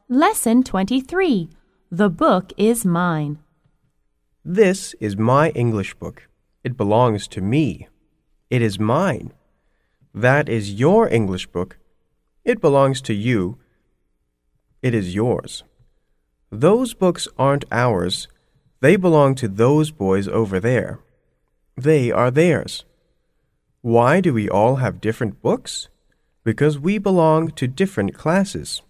Lesson 23. The book is mine. This is my English book. It belongs to me. It is mine. That is your English book. It belongs to you. It is yours. Those books aren't ours. They belong to those boys over there. They are theirs. Why do we all have different books? Because we belong to different classes.